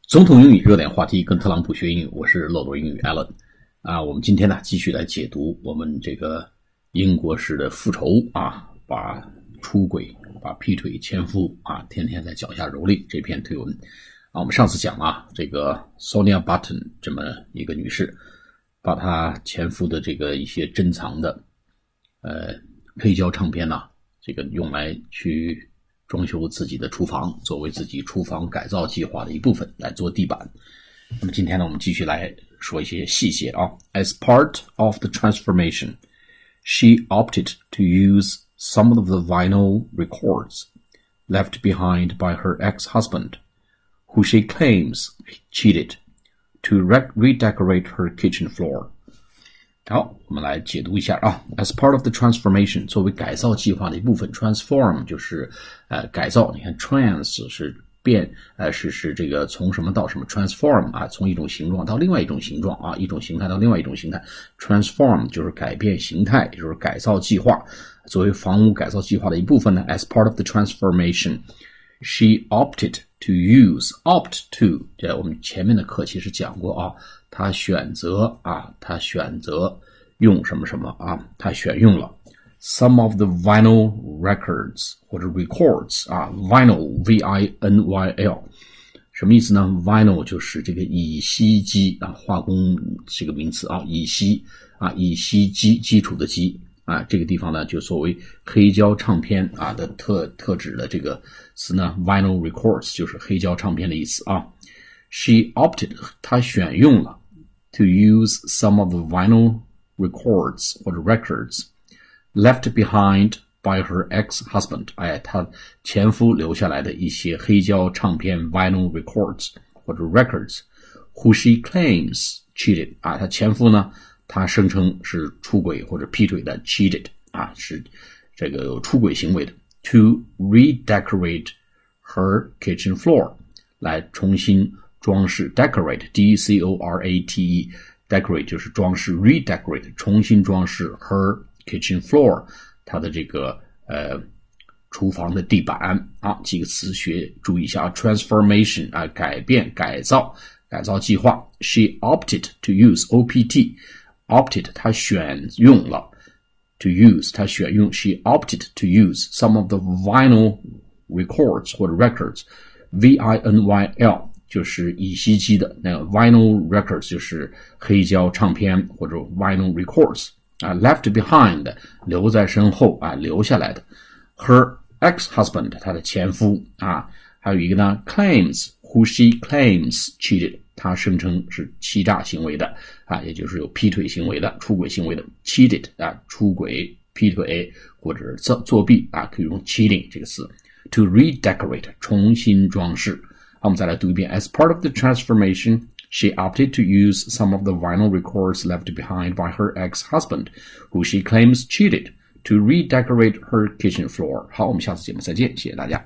总统英语热点话题，跟特朗普学英语，我是漏斗英语 Alan 我们今天呢继续来解读我们这个英国式的复仇把出轨、把劈腿前夫天天在脚下蹂躏这篇推文我们上次讲这个 Sonia Button 这么一个女士，把她前夫的这个一些珍藏的黑胶唱片这个用来去装修自己的厨房，作为自己厨房改造计划的一部分来做地板。那么今天呢，我们继续来说一些细节As part of the transformation, she opted to use some of the vinyl records left behind by her ex-husband, who she claims cheated, to redecorate her kitchen floor.好，我们来解读一下As part of the transformation， 作为改造计划的一部分 ，transform 就是改造。你看 trans 是变，是这个从什么到什么 transform 从一种形状到另外一种形状一种形态到另外一种形态 ，transform 就是改变形态，也就是改造计划。作为房屋改造计划的一部分呢 ，as part of the transformation，she opted to opt to， 我们前面的课其实讲过他选择用什么什么他选用了 some of the vinyl records 或者 records vinyl V-I-N-Y-L 什么意思呢 vinyl 就是这个乙烯基化工这个名词乙烯基础的基这个地方呢就作为黑胶唱片的特指的这个词呢 vinyl records 就是黑胶唱片的意思She opted 她选用了to use some of the vinyl records 或者 records left behind by her ex-husband 她前夫留下来的一些黑胶唱片 vinyl records 或者 records who she claims cheated 她前夫呢他声称是出轨或者劈腿的 cheated 是这个有出轨行为的 to redecorate her kitchen floor 来重新装饰 decorate D-C-O-R-A-T-E decorate 就是装饰 redecorate 重新装饰 her kitchen floor 她的这个厨房的地板几个词注意一下transformation 改变改造计划 she opted to use O-P-T opted 她选用了 to use 她选用 she opted to use some of the vinyl records 或者 records V-I-N-Y-L 就是乙烯基的那个 vinyl records 就是黑胶唱片或者 vinyl records left behind 留在身后留下来的 her ex-husband 她的前夫还有一个呢 claims who she claims cheated 她声称是欺诈行为的也就是有劈腿行为的出轨行为的 cheated 出轨劈腿或者作弊可以用 cheating 这个词 to redecorate 重新装饰我们再来读一遍 As part of the transformation, she opted to use some of the vinyl records left behind by her ex-husband, who she claims cheated, to redecorate her kitchen floor. 好，我们下次节目再见，谢谢大家。